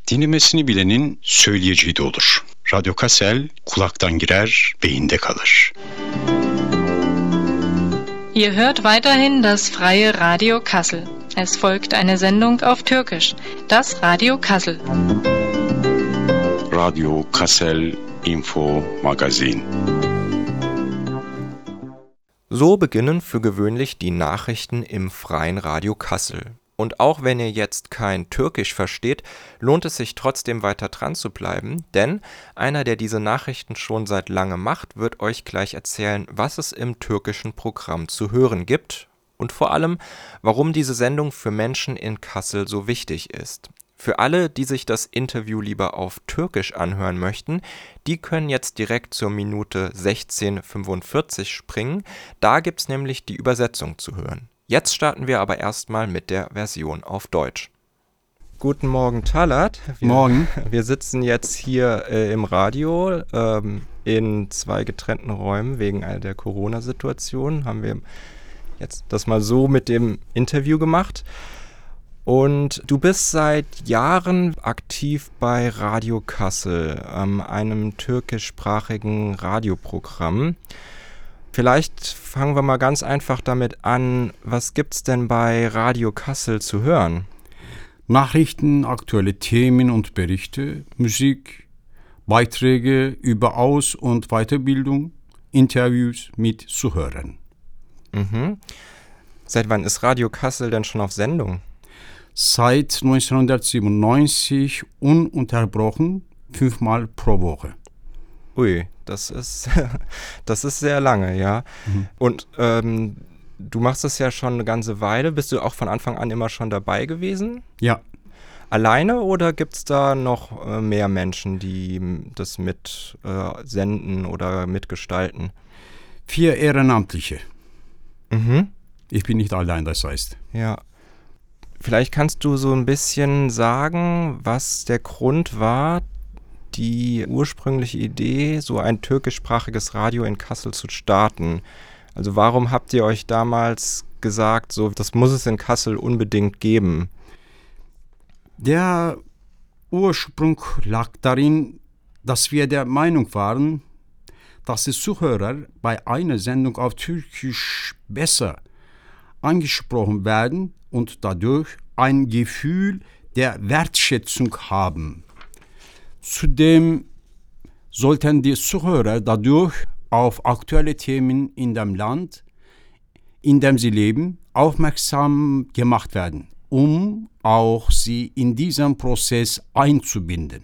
Dinlemesini bilenin söyleyeceği de olur. Radyo Kassel kulaktan girer, beyinde kalır. Ihr hört weiterhin das freie Radio Kassel. Es folgt eine Sendung auf Türkisch, das Radio Kassel. Radio Kassel Info Magazin. So beginnen für gewöhnlich die Nachrichten im freien Radio Kassel. Und auch wenn ihr jetzt kein Türkisch versteht, lohnt es sich trotzdem weiter dran zu bleiben, denn einer, der diese Nachrichten schon seit langem macht, wird euch gleich erzählen, was es im türkischen Programm zu hören gibt und vor allem, warum diese Sendung für Menschen in Kassel so wichtig ist. Für alle, die sich das Interview lieber auf Türkisch anhören möchten, die können jetzt direkt zur Minute 16:45 springen, da gibt's nämlich die Übersetzung zu hören. Jetzt starten wir aber erstmal mit der Version auf Deutsch. Guten Morgen, Talat. Morgen. Wir sitzen jetzt hier im Radio in zwei getrennten Räumen wegen der Corona-Situation. Haben wir jetzt das mal so mit dem Interview gemacht. Und du bist seit Jahren aktiv bei Radio Kassel, einem türkischsprachigen Radioprogramm. Vielleicht fangen wir mal ganz einfach damit an, was gibt's denn bei Radio Kassel zu hören? Nachrichten, aktuelle Themen und Berichte, Musik, Beiträge über Aus- und Weiterbildung, Interviews mit Zuhörern. Mhm. Seit wann ist Radio Kassel denn schon auf Sendung? Seit 1997 ununterbrochen, 5-mal pro Woche. Ui, das ist sehr lange, ja. Mhm. Und du machst das ja schon eine ganze Weile. Bist du auch von Anfang an immer schon dabei gewesen? Ja. Alleine oder gibt es da noch mehr Menschen, die das mit senden oder mitgestalten? 4 Ehrenamtliche. Mhm. Ich bin nicht allein, das heißt. Ja. Vielleicht kannst du so ein bisschen sagen, was der Grund war, die ursprüngliche Idee, so ein türkischsprachiges Radio in Kassel zu starten. Also warum habt ihr euch damals gesagt, so das muss es in Kassel unbedingt geben? Der Ursprung lag darin, dass wir der Meinung waren, dass die Zuhörer bei einer Sendung auf Türkisch besser angesprochen werden und dadurch ein Gefühl der Wertschätzung haben. Zudem sollten die Zuhörer dadurch auf aktuelle Themen in dem Land, in dem sie leben, aufmerksam gemacht werden, um auch sie in diesen Prozess einzubinden.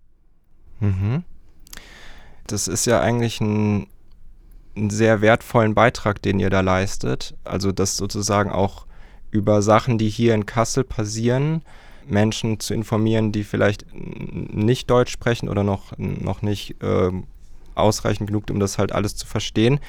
Mhm. Das ist ja eigentlich einen sehr wertvollen Beitrag, den ihr da leistet. Also das sozusagen auch über Sachen, die hier in Kassel passieren, Menschen zu informieren, die vielleicht nicht Deutsch sprechen oder noch nicht ausreichend genug, um das halt alles zu verstehen.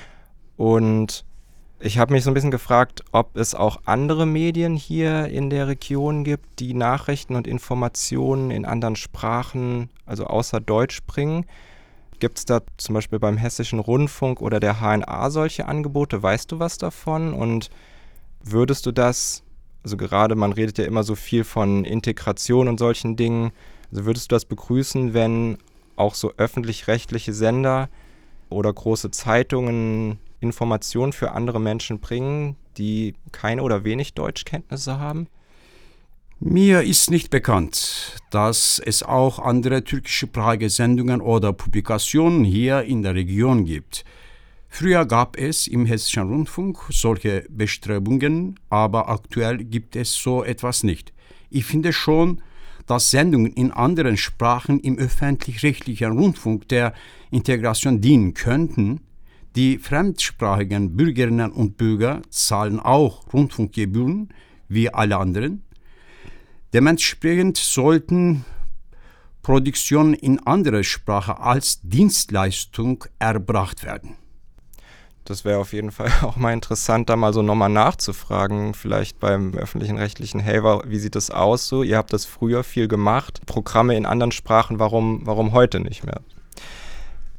Und ich habe mich so ein bisschen gefragt, ob es auch andere Medien hier in der Region gibt, die Nachrichten und Informationen in anderen Sprachen, also außer Deutsch bringen. Gibt es da zum Beispiel beim Hessischen Rundfunk oder der HNA solche Angebote? Weißt du was davon? Und würdest du das, also gerade man redet ja immer so viel von Integration und solchen Dingen, also würdest du das begrüßen, wenn auch so öffentlich-rechtliche Sender oder große Zeitungen Informationen für andere Menschen bringen, die keine oder wenig Deutschkenntnisse haben? Mir ist nicht bekannt, dass es auch andere türkischsprachige Sendungen oder Publikationen hier in der Region gibt. Früher gab es im Hessischen Rundfunk solche Bestrebungen, aber aktuell gibt es so etwas nicht. Ich finde schon, dass Sendungen in anderen Sprachen im öffentlich-rechtlichen Rundfunk der Integration dienen könnten. Die fremdsprachigen Bürgerinnen und Bürger zahlen auch Rundfunkgebühren wie alle anderen. Dementsprechend sollten Produktionen in anderer Sprache als Dienstleistung erbracht werden. Das wäre auf jeden Fall auch mal interessant, da mal so nochmal nachzufragen, vielleicht beim öffentlichen Rechtlichen, hey, wie sieht das aus so? Ihr habt das früher viel gemacht, Programme in anderen Sprachen, warum heute nicht mehr?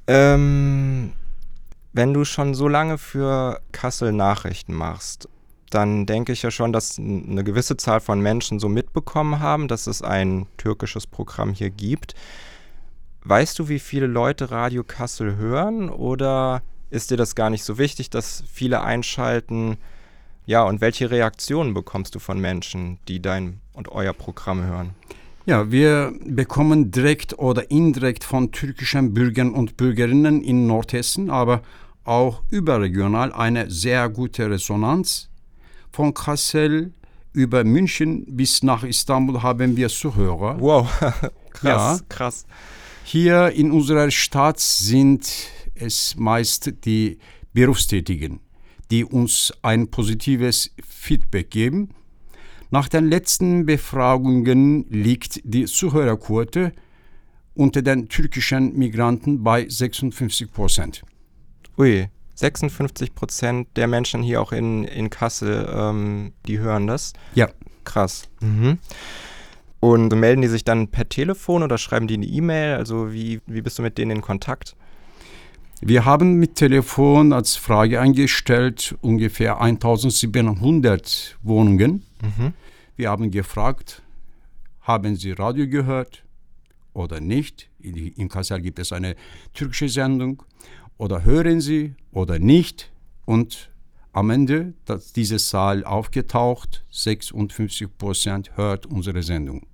Wenn du schon so lange für Kassel Nachrichten machst, dann denke ich ja schon, dass eine gewisse Zahl von Menschen so mitbekommen haben, dass es ein türkisches Programm hier gibt. Weißt du, wie viele Leute Radio Kassel hören oder ist dir das gar nicht so wichtig, dass viele einschalten? Ja, und welche Reaktionen bekommst du von Menschen, die dein und euer Programm hören? Ja, wir bekommen direkt oder indirekt von türkischen Bürgern und Bürgerinnen in Nordhessen, aber auch überregional eine sehr gute Resonanz. Von Kassel über München bis nach Istanbul haben wir Zuhörer. Wow, krass, Ja. krass. Hier in unserer Stadt sind es meist die Berufstätigen, die uns ein positives Feedback geben. Nach den letzten Befragungen liegt die Zuhörerquote unter den türkischen Migranten bei 56%. Ui, 56% der Menschen hier auch in Kassel, die hören das? Ja. Krass. Mhm. Und melden die sich dann per Telefon oder schreiben die eine E-Mail? Also wie bist du mit denen in Kontakt? Wir haben mit Telefon als Frage eingestellt ungefähr 1700 Wohnungen. Mhm. Wir haben gefragt, haben Sie Radio gehört oder nicht? In Kassel gibt es eine türkische Sendung. Oder hören Sie oder nicht? Und am Ende ist diese Zahl aufgetaucht, 56% hört unsere Sendung.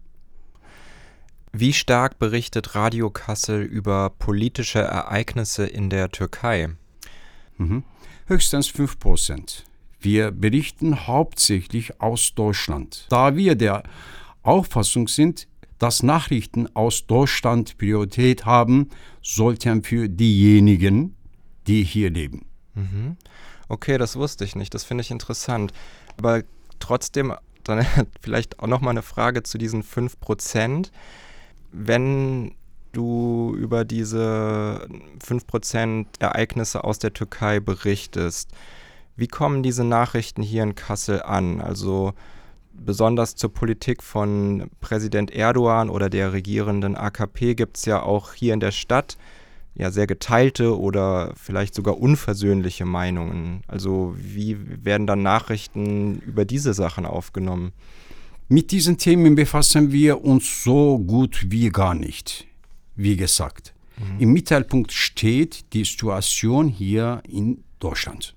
Wie stark berichtet Radio Kassel über politische Ereignisse in der Türkei? Höchstens 5%. Wir berichten hauptsächlich aus Deutschland, da wir der Auffassung sind, dass Nachrichten aus Deutschland Priorität haben sollten für diejenigen, die hier leben. Mhm. Okay, das wusste ich nicht. Das finde ich interessant. Aber trotzdem, dann vielleicht auch nochmal eine Frage zu diesen 5%. Wenn du über diese 5% Ereignisse aus der Türkei berichtest, wie kommen diese Nachrichten hier in Kassel an? Also besonders zur Politik von Präsident Erdogan oder der regierenden AKP gibt es ja auch hier in der Stadt ja sehr geteilte oder vielleicht sogar unversöhnliche Meinungen. Also wie werden dann Nachrichten über diese Sachen aufgenommen? Mit diesen Themen befassen wir uns so gut wie gar nicht, wie gesagt. Im Mittelpunkt steht die Situation hier in Deutschland.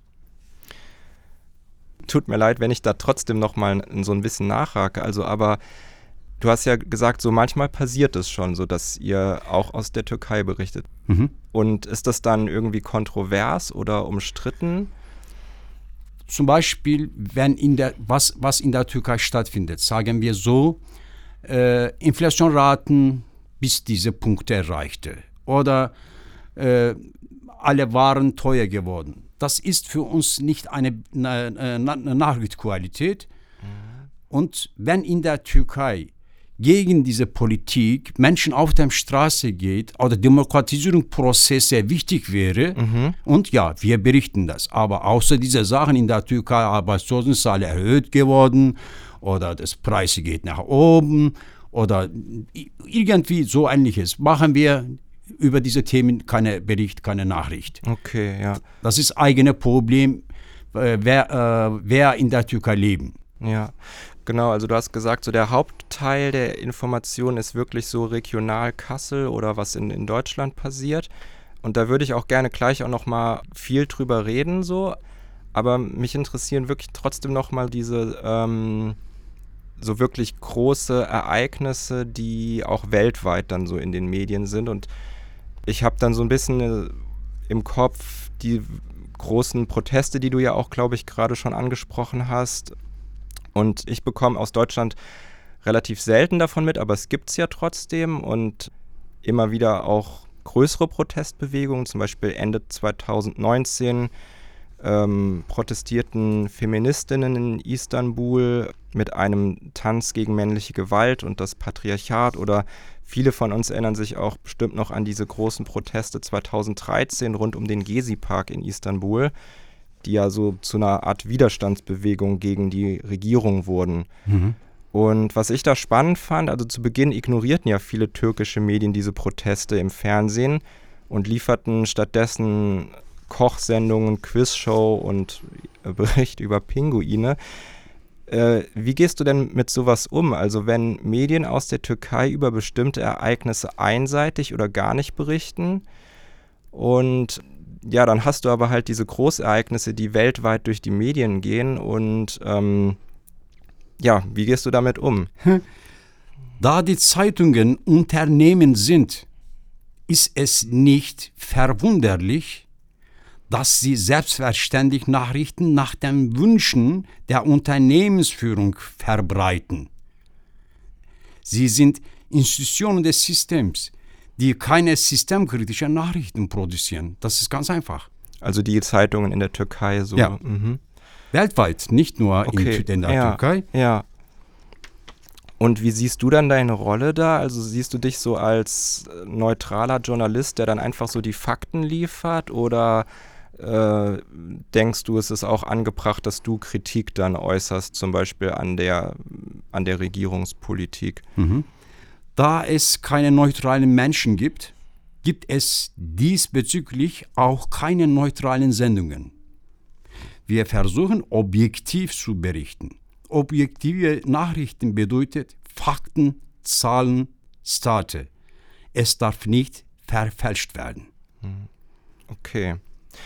Tut mir leid, wenn ich da trotzdem noch mal so ein bisschen nachhake. Also, aber du hast ja gesagt, so manchmal passiert es schon, so dass ihr auch aus der Türkei berichtet. Und ist das dann irgendwie kontrovers oder umstritten? Zum Beispiel, wenn was in der Türkei stattfindet, sagen wir so, Inflationraten bis diese Punkte erreichte oder alle Waren teuer geworden. Das ist für uns nicht eine Nachrichtenqualität. Und wenn in der Türkei gegen diese Politik Menschen auf der Straße geht oder Demokratisierungsprozess sehr wichtig wäre, und ja, wir berichten das. Aber außer dieser Sachen in der Türkei, Arbeitslosenzahl erhöht geworden oder das Preis geht nach oben oder irgendwie so Ähnliches, machen wir über diese Themen keine Bericht, keine Nachricht. Okay, ja. Das ist eigene Problem, wer in der Türkei leben. Ja, genau. Also du hast gesagt, so der Hauptteil der Information ist wirklich so regional Kassel oder was in Deutschland passiert. Und da würde ich auch gerne gleich auch noch mal viel drüber reden, so. Aber mich interessieren wirklich trotzdem noch mal diese so wirklich große Ereignisse, die auch weltweit dann so in den Medien sind. Und ich habe dann so ein bisschen im Kopf die großen Proteste, die du ja auch, glaube ich, gerade schon angesprochen hast. Und ich bekomme aus Deutschland relativ selten davon mit, aber es gibt es ja trotzdem und immer wieder auch größere Protestbewegungen. Zum Beispiel Ende 2019 protestierten Feministinnen in Istanbul mit einem Tanz gegen männliche Gewalt und das Patriarchat, oder viele von uns erinnern sich auch bestimmt noch an diese großen Proteste 2013 rund um den Gezi-Park in Istanbul, die ja so zu einer Art Widerstandsbewegung gegen die Regierung wurden. Und was ich da spannend fand, also zu Beginn ignorierten ja viele türkische Medien diese Proteste im Fernsehen und lieferten stattdessen Kochsendungen, Quizshow und Bericht über Pinguine. Wie gehst du denn mit sowas um? Also wenn Medien aus der Türkei über bestimmte Ereignisse einseitig oder gar nicht berichten und ja, dann hast du aber halt diese Großereignisse, die weltweit durch die Medien gehen und wie gehst du damit um? Da die Zeitungen Unternehmen sind, ist es nicht verwunderlich, dass sie selbstverständlich Nachrichten nach den Wünschen der Unternehmensführung verbreiten. Sie sind Institutionen des Systems, die keine systemkritischen Nachrichten produzieren. Das ist ganz einfach. Also die Zeitungen in der Türkei so? Ja. Weltweit, nicht nur in der Türkei. Ja. Und wie siehst du dann deine Rolle da? Also siehst du dich so als neutraler Journalist, der dann einfach so die Fakten liefert? Oder denkst du, es ist auch angebracht, dass du Kritik dann äußerst, zum Beispiel an der Regierungspolitik? Da es keine neutralen Menschen gibt, gibt es diesbezüglich auch keine neutralen Sendungen. Wir versuchen, objektiv zu berichten. Objektive Nachrichten bedeutet Fakten, Zahlen, State. Es darf nicht verfälscht werden. Okay.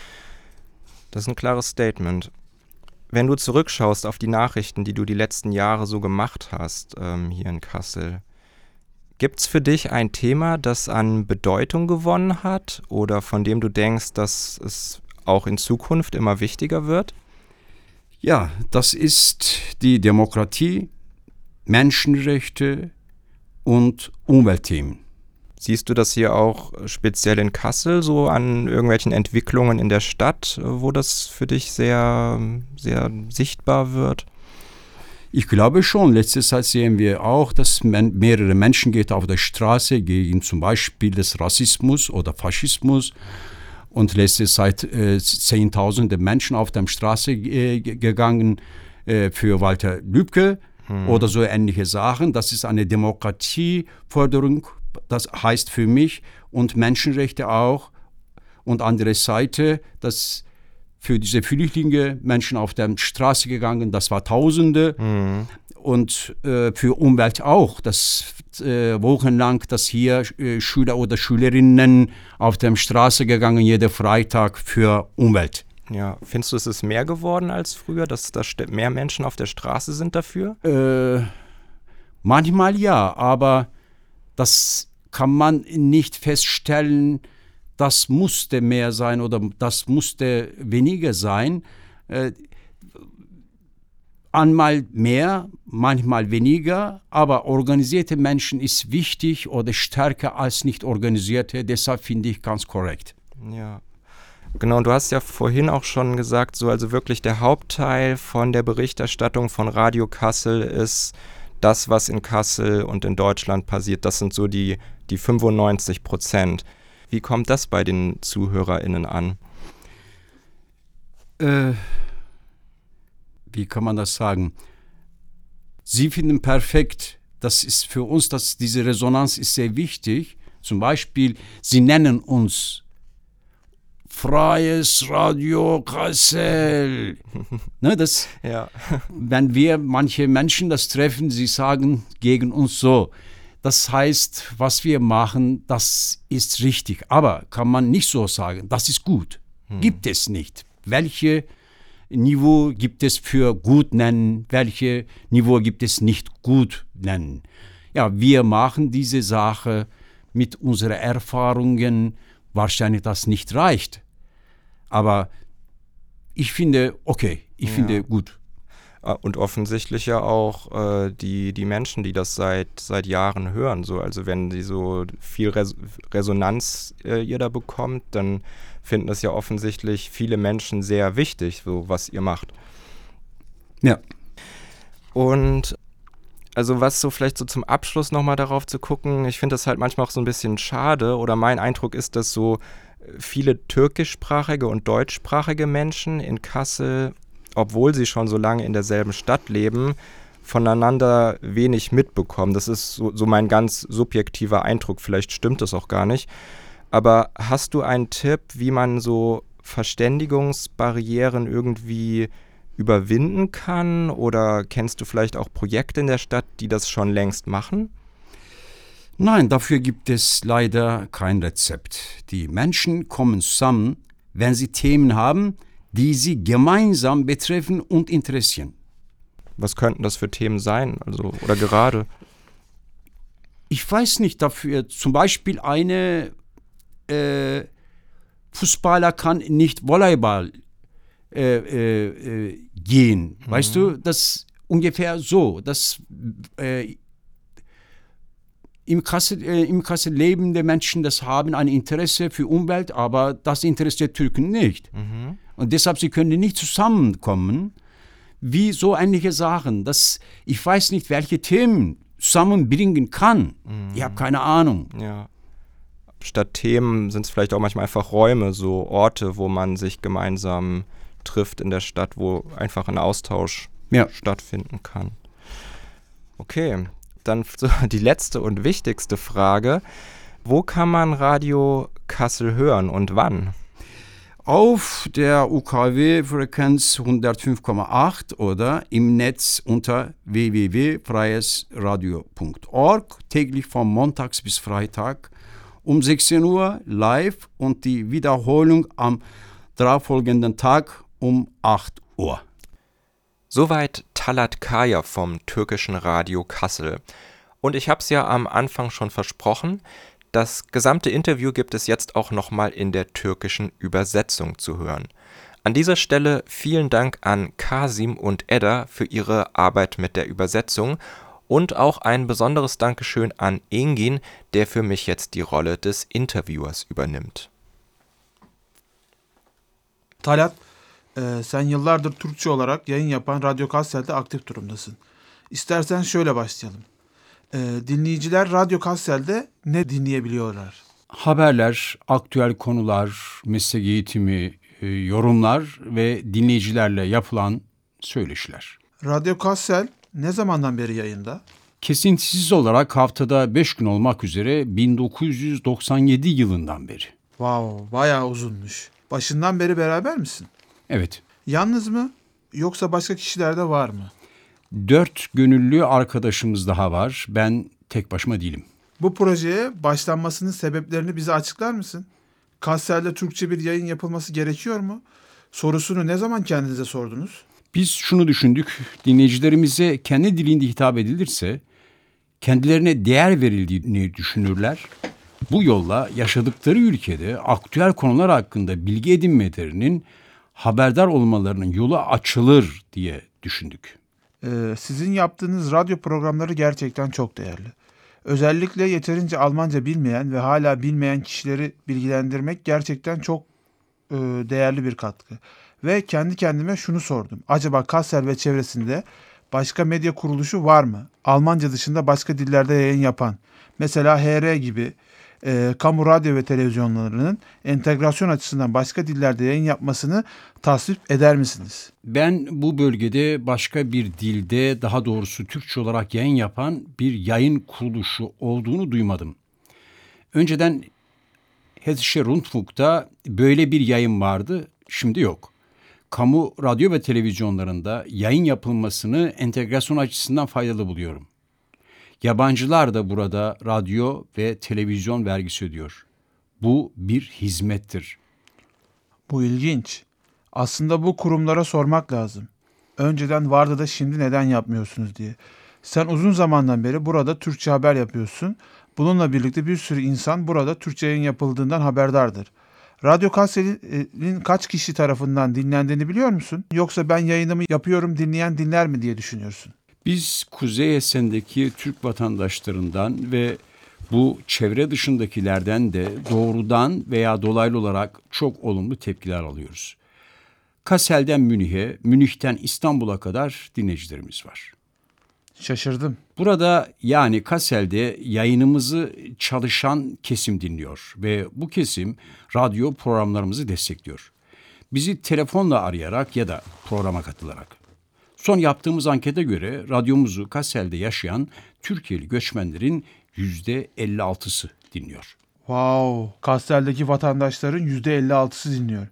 Das ist ein klares Statement. Wenn du zurückschaust auf die Nachrichten, die du die letzten Jahre so gemacht hast, hier in Kassel, gibt es für dich ein Thema, das an Bedeutung gewonnen hat oder von dem du denkst, dass es auch in Zukunft immer wichtiger wird? Ja, das ist die Demokratie, Menschenrechte und Umweltthemen. Siehst du das hier auch speziell in Kassel, so an irgendwelchen Entwicklungen in der Stadt, wo das für dich sehr, sehr sichtbar wird? Ich glaube schon. Letzte Zeit sehen wir auch, dass mehrere Menschen gehen auf der Straße gegen zum Beispiel des Rassismus oder Faschismus. Und letzte Zeit Zehntausende Menschen auf der Straße gegangen für Walter Lübcke oder so ähnliche Sachen. Das ist eine Demokratieforderung. Das heißt für mich und Menschenrechte auch. Und andere Seite, dass für diese Flüchtlinge Menschen auf der Straße gegangen, das war Tausende. Und für Umwelt auch, dass wochenlang, dass hier Schüler oder Schülerinnen auf der Straße gegangen, jeden Freitag für Umwelt. Ja, findest du, es ist mehr geworden als früher, dass da mehr Menschen auf der Straße sind dafür? Manchmal ja, aber das kann man nicht feststellen, das musste mehr sein oder das musste weniger sein. Einmal mehr, manchmal weniger, aber organisierte Menschen ist wichtig oder stärker als nicht organisierte, deshalb finde ich ganz korrekt. Ja, genau, und du hast ja vorhin auch schon gesagt, so also wirklich der Hauptteil von der Berichterstattung von Radio Kassel ist das, was in Kassel und in Deutschland passiert, das sind so die 95%. Wie kommt das bei den ZuhörerInnen an? Wie kann man das sagen? Sie finden perfekt, das ist für uns, diese Resonanz ist sehr wichtig. Zum Beispiel, sie nennen uns Freies Radio Kassel. Ne, das, ja. Wenn wir manche Menschen das treffen, sie sagen gegen uns so. Das heißt, was wir machen, das ist richtig. Aber kann man nicht so sagen, das ist gut. Gibt es nicht. Welche Niveau gibt es für gut nennen? Welche Niveau gibt es nicht gut nennen? Ja, wir machen diese Sache mit unseren Erfahrungen. Wahrscheinlich das nicht reicht. Aber ich finde, okay, ich finde gut. Und offensichtlich ja auch die Menschen, die das seit Jahren hören. So. Also wenn sie so viel Resonanz ihr da bekommt, dann finden das ja offensichtlich viele Menschen sehr wichtig, so was ihr macht. Ja. Und also was so vielleicht so zum Abschluss nochmal darauf zu gucken, ich finde das halt manchmal auch so ein bisschen schade oder mein Eindruck ist, dass so viele türkischsprachige und deutschsprachige Menschen in Kassel, obwohl sie schon so lange in derselben Stadt leben, voneinander wenig mitbekommen. Das ist so mein ganz subjektiver Eindruck, vielleicht stimmt das auch gar nicht. Aber hast du einen Tipp, wie man so Verständigungsbarrieren irgendwie überwinden kann? Oder kennst du vielleicht auch Projekte in der Stadt, die das schon längst machen? Nein, dafür gibt es leider kein Rezept. Die Menschen kommen zusammen, wenn sie Themen haben, die sie gemeinsam betreffen und interessieren. Was könnten das für Themen sein? Also, oder gerade? Ich weiß nicht dafür. Zum Beispiel Fußballer kann nicht Volleyball gehen. Weißt du, das ungefähr so. Das im Kassel lebende Menschen, das haben ein Interesse für Umwelt, aber das interessiert Türken nicht. Und deshalb, sie können nicht zusammenkommen, wie so ähnliche Sachen. Ich weiß nicht, welche Themen zusammenbringen kann. Ich habe keine Ahnung. Ja. Statt Themen sind es vielleicht auch manchmal einfach Räume, so Orte, wo man sich gemeinsam trifft in der Stadt, wo einfach ein Austausch stattfinden kann. Okay, dann so die letzte und wichtigste Frage. Wo kann man Radio Kassel hören und wann? Auf der UKW-Frequenz 105,8 oder im Netz unter www.freiesradio.org, täglich von Montags bis Freitag um 16 Uhr live und die Wiederholung am darauffolgenden Tag um 8 Uhr. Soweit Talat Kaya vom türkischen Radio Kassel. Und ich habe es ja am Anfang schon versprochen, das gesamte Interview gibt es jetzt auch nochmal in der türkischen Übersetzung zu hören. An dieser Stelle vielen Dank an Kasim und Edda für ihre Arbeit mit der Übersetzung und auch ein besonderes Dankeschön an Engin, der für mich jetzt die Rolle des Interviewers übernimmt. Talat, sen yıllardır Türkçe olarak yayın yapan Radyo Kassel'de aktif durumdasın. İstersen şöyle başlayalım. Dinleyiciler Radyo Kassel'de ne dinleyebiliyorlar? Haberler, aktüel konular, meslek eğitimi, yorumlar ve dinleyicilerle yapılan söyleşiler. Radyo Kassel ne zamandan beri yayında? Kesintisiz olarak haftada 5 gün olmak üzere 1997 yılından beri. Wow, bayağı uzunmuş. Başından beri beraber misin? Evet. Yalnız mı? Yoksa başka kişiler de var mı? 4 gönüllü arkadaşımız daha var. Ben tek başıma değilim. Bu projeye başlanmasının sebeplerini bize açıklar mısın? Kassel'de Türkçe bir yayın yapılması gerekiyor mu? Sorusunu ne zaman kendinize sordunuz? Biz şunu düşündük. Dinleyicilerimize kendi dilinde hitap edilirse kendilerine değer verildiğini düşünürler. Bu yolla yaşadıkları ülkede aktüel konular hakkında bilgi edinmelerinin, haberdar olmalarının yolu açılır diye düşündük. Sizin yaptığınız radyo programları gerçekten çok değerli. Özellikle yeterince Almanca bilmeyen ve hala bilmeyen kişileri bilgilendirmek gerçekten çok değerli bir katkı. Ve kendi kendime şunu sordum. Acaba Kassel ve çevresinde başka medya kuruluşu var mı? Almanca dışında başka dillerde yayın yapan. Mesela HR gibi kamu radyo ve televizyonlarının entegrasyon açısından başka dillerde yayın yapmasını tasvip eder misiniz? Ben bu bölgede başka bir dilde, daha doğrusu Türkçe olarak yayın yapan bir yayın kuruluşu olduğunu duymadım. Önceden Hessische Rundfunk'ta böyle bir yayın vardı, şimdi yok. Kamu radyo ve televizyonlarında yayın yapılmasını entegrasyon açısından faydalı buluyorum. Yabancılar da burada radyo ve televizyon vergisi ödüyor. Bu bir hizmettir. Bu ilginç. Aslında bu kurumlara sormak lazım. Önceden vardı da şimdi neden yapmıyorsunuz diye. Sen uzun zamandan beri burada Türkçe haber yapıyorsun. Bununla birlikte bir sürü insan burada Türkçe yayın yapıldığından haberdardır. Radyo Kassel'in kaç kişi tarafından dinlendiğini biliyor musun? Yoksa ben yayınımı yapıyorum, dinleyen dinler mi diye düşünüyorsun? Biz Kuzey Esen'deki Türk vatandaşlarından ve bu çevre dışındakilerden de doğrudan veya dolaylı olarak çok olumlu tepkiler alıyoruz. Kassel'den Münih'e, Münih'ten İstanbul'a kadar dinleyicilerimiz var. Şaşırdım. Burada yani Kassel'de yayınımızı çalışan kesim dinliyor ve bu kesim radyo programlarımızı destekliyor. Bizi telefonla arayarak ya da programa katılarak. Son yaptığımız ankete göre radyomuzu Kassel'de yaşayan Türkiye'li göçmenlerin %56'sı dinliyor. Wow, Kassel'deki vatandaşların %56'sı dinliyor.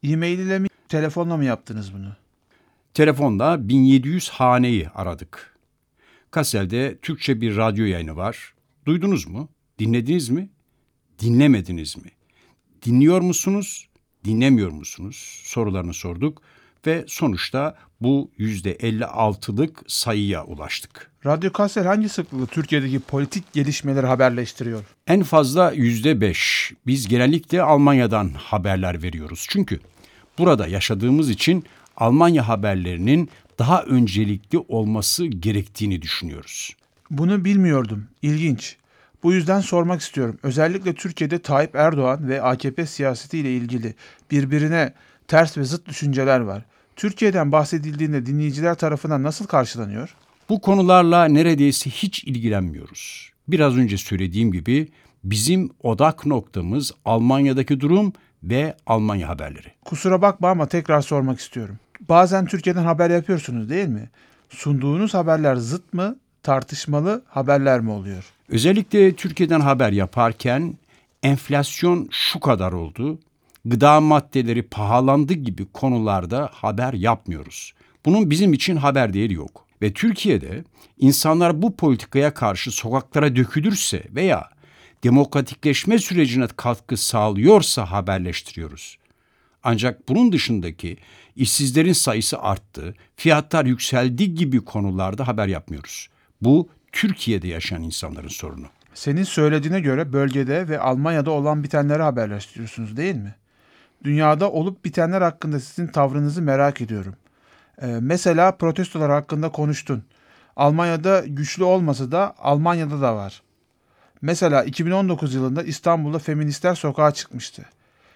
E-mail ile mi, telefonla mı yaptınız bunu? Telefonla 1700 haneyi aradık. Kassel'de Türkçe bir radyo yayını var. Duydunuz mu? Dinlediniz mi? Dinlemediniz mi? Dinliyor musunuz? Dinlemiyor musunuz? Sorularını sorduk ve sonuçta bu %56'lık sayıya ulaştık. Radyo Kassel hangi sıklıkla Türkiye'deki politik gelişmeleri haberleştiriyor? En fazla %5. Biz genellikle Almanya'dan haberler veriyoruz. Çünkü burada yaşadığımız için Almanya haberlerinin daha öncelikli olması gerektiğini düşünüyoruz. Bunu bilmiyordum. İlginç. Bu yüzden sormak istiyorum. Özellikle Türkiye'de Tayyip Erdoğan ve AKP siyasetiyle ilgili birbirine ters ve zıt düşünceler var. Türkiye'den bahsedildiğinde dinleyiciler tarafından nasıl karşılanıyor? Bu konularla neredeyse hiç ilgilenmiyoruz. Biraz önce söylediğim gibi bizim odak noktamız Almanya'daki durum ve Almanya haberleri. Kusura bakma ama tekrar sormak istiyorum. Bazen Türkiye'den haber yapıyorsunuz değil mi? Sunduğunuz haberler zıt mı, tartışmalı haberler mi oluyor? Özellikle Türkiye'den haber yaparken enflasyon şu kadar oldu, gıda maddeleri pahalandı gibi konularda haber yapmıyoruz. Bunun bizim için haber değeri yok. Ve Türkiye'de insanlar bu politikaya karşı sokaklara dökülürse veya demokratikleşme sürecine katkı sağlıyorsa haberleştiriyoruz. Ancak bunun dışındaki işsizlerin sayısı arttı, fiyatlar yükseldi gibi konularda haber yapmıyoruz. Bu Türkiye'de yaşayan insanların sorunu. Senin söylediğine göre bölgede ve Almanya'da olan bitenleri haberleştiriyorsunuz değil mi? Dünyada olup bitenler hakkında sizin tavrınızı merak ediyorum. Mesela protestolar hakkında konuştun. Almanya'da güçlü olmasa da Almanya'da da var. Mesela 2019 yılında İstanbul'da feministler sokağa çıkmıştı.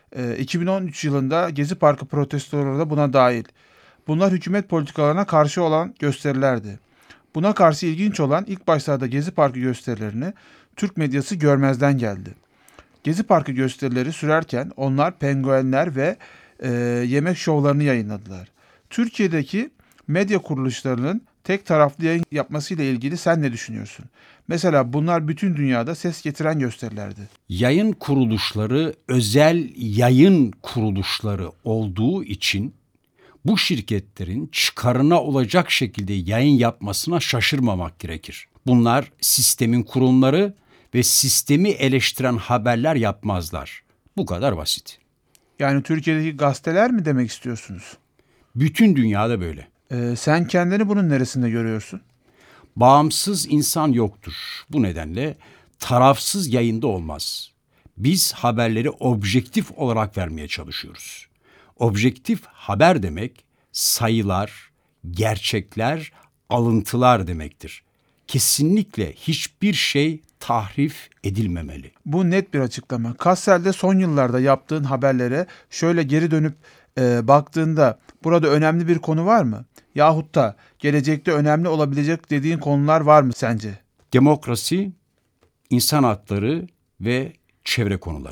2013 yılında Gezi Parkı protestoları da buna dahil. Bunlar hükümet politikalarına karşı olan gösterilerdi. Buna karşı ilginç olan ilk başlarda Gezi Parkı gösterilerini Türk medyası görmezden geldi. Gezi Parkı gösterileri sürerken onlar penguenler ve yemek şovlarını yayınladılar. Türkiye'deki medya kuruluşlarının tek taraflı yayın yapmasıyla ilgili sen ne düşünüyorsun? Mesela bunlar bütün dünyada ses getiren gösterilerdi. Yayın kuruluşları özel yayın kuruluşları olduğu için bu şirketlerin çıkarına olacak şekilde yayın yapmasına şaşırmamak gerekir. Bunlar sistemin kurumları ve sistemi eleştiren haberler yapmazlar. Bu kadar basit. Yani Türkiye'deki gazeteler mi demek istiyorsunuz? Bütün dünyada böyle. Sen kendini bunun neresinde görüyorsun? Bağımsız insan yoktur. Bu nedenle tarafsız yayında olmaz. Biz haberleri objektif olarak vermeye çalışıyoruz. Objektif haber demek sayılar, gerçekler, alıntılar demektir. Kesinlikle hiçbir şey tahrif edilmemeli. Bu net bir açıklama. Kassel'de son yıllarda yaptığın haberlere şöyle geri dönüp baktığında burada önemli bir konu var mı? Yahut da gelecekte önemli olabilecek dediğin konular var mı sence? Demokrasi, insan hakları ve çevre konuları.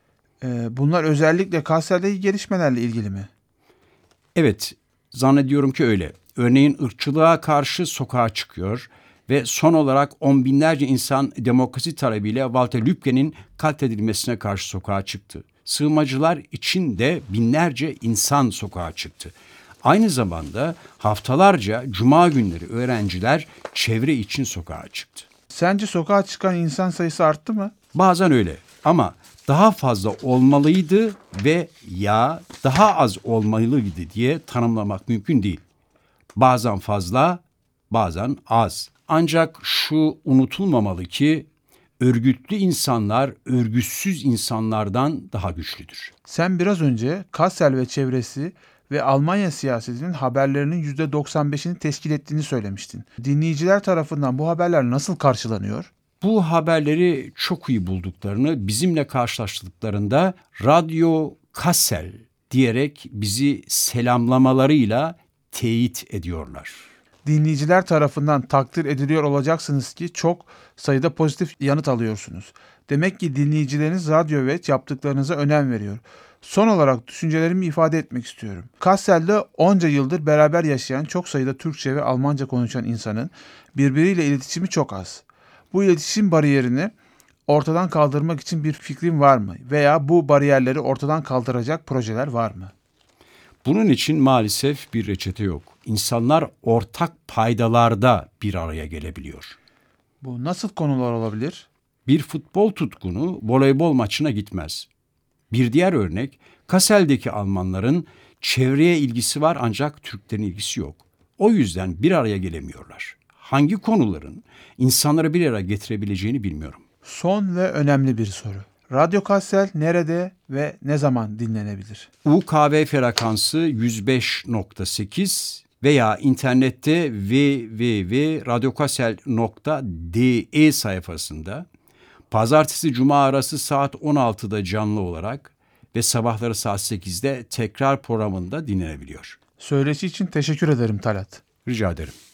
Bunlar özellikle Kassel'deki gelişmelerle ilgili mi? Evet, zannediyorum ki öyle. Örneğin ırkçılığa karşı sokağa çıkıyor ve son olarak on binlerce insan demokrasi talebiyle Walter Lübke'nin katledilmesine karşı sokağa çıktı. Sığınmacılar için de binlerce insan sokağa çıktı. Aynı zamanda haftalarca cuma günleri öğrenciler çevre için sokağa çıktı. Sence sokağa çıkan insan sayısı arttı mı? Bazen öyle ama daha fazla olmalıydı ve ya daha az olmalıydı diye tanımlamak mümkün değil. Bazen fazla, bazen az. Ancak şu unutulmamalı ki örgütlü insanlar örgütsüz insanlardan daha güçlüdür. Sen biraz önce Kassel ve çevresi ve Almanya siyasetinin haberlerinin %95'ini teşkil ettiğini söylemiştin. Dinleyiciler tarafından bu haberler nasıl karşılanıyor? Bu haberleri çok iyi bulduklarını bizimle karşılaştıklarında Radyo Kassel diyerek bizi selamlamalarıyla teyit ediyorlar. Dinleyiciler tarafından takdir ediliyor olacaksınız ki çok sayıda pozitif yanıt alıyorsunuz. Demek ki dinleyicileriniz radyo ve yaptıklarınıza önem veriyor. Son olarak düşüncelerimi ifade etmek istiyorum. Kassel'de onca yıldır beraber yaşayan çok sayıda Türkçe ve Almanca konuşan insanın birbiriyle iletişimi çok az. Bu iletişim bariyerini ortadan kaldırmak için bir fikrin var mı? Veya bu bariyerleri ortadan kaldıracak projeler var mı? Bunun için maalesef bir reçete yok. İnsanlar ortak paydalarda bir araya gelebiliyor. Bu nasıl konular olabilir? Bir futbol tutkunu voleybol maçına gitmez. Bir diğer örnek, Kassel'deki Almanların çevreye ilgisi var ancak Türklerin ilgisi yok. O yüzden bir araya gelemiyorlar. Hangi konuların insanları bir araya getirebileceğini bilmiyorum. Son ve önemli bir soru. Radyo Kassel nerede ve ne zaman dinlenebilir? UKV frekansı 105.8 veya internette www.radyokassel.de sayfasında pazartesi-cuma arası saat 16'da canlı olarak ve sabahları saat 8'de tekrar programında dinlenebiliyor. Söyleşi için teşekkür ederim Talat. Rica ederim.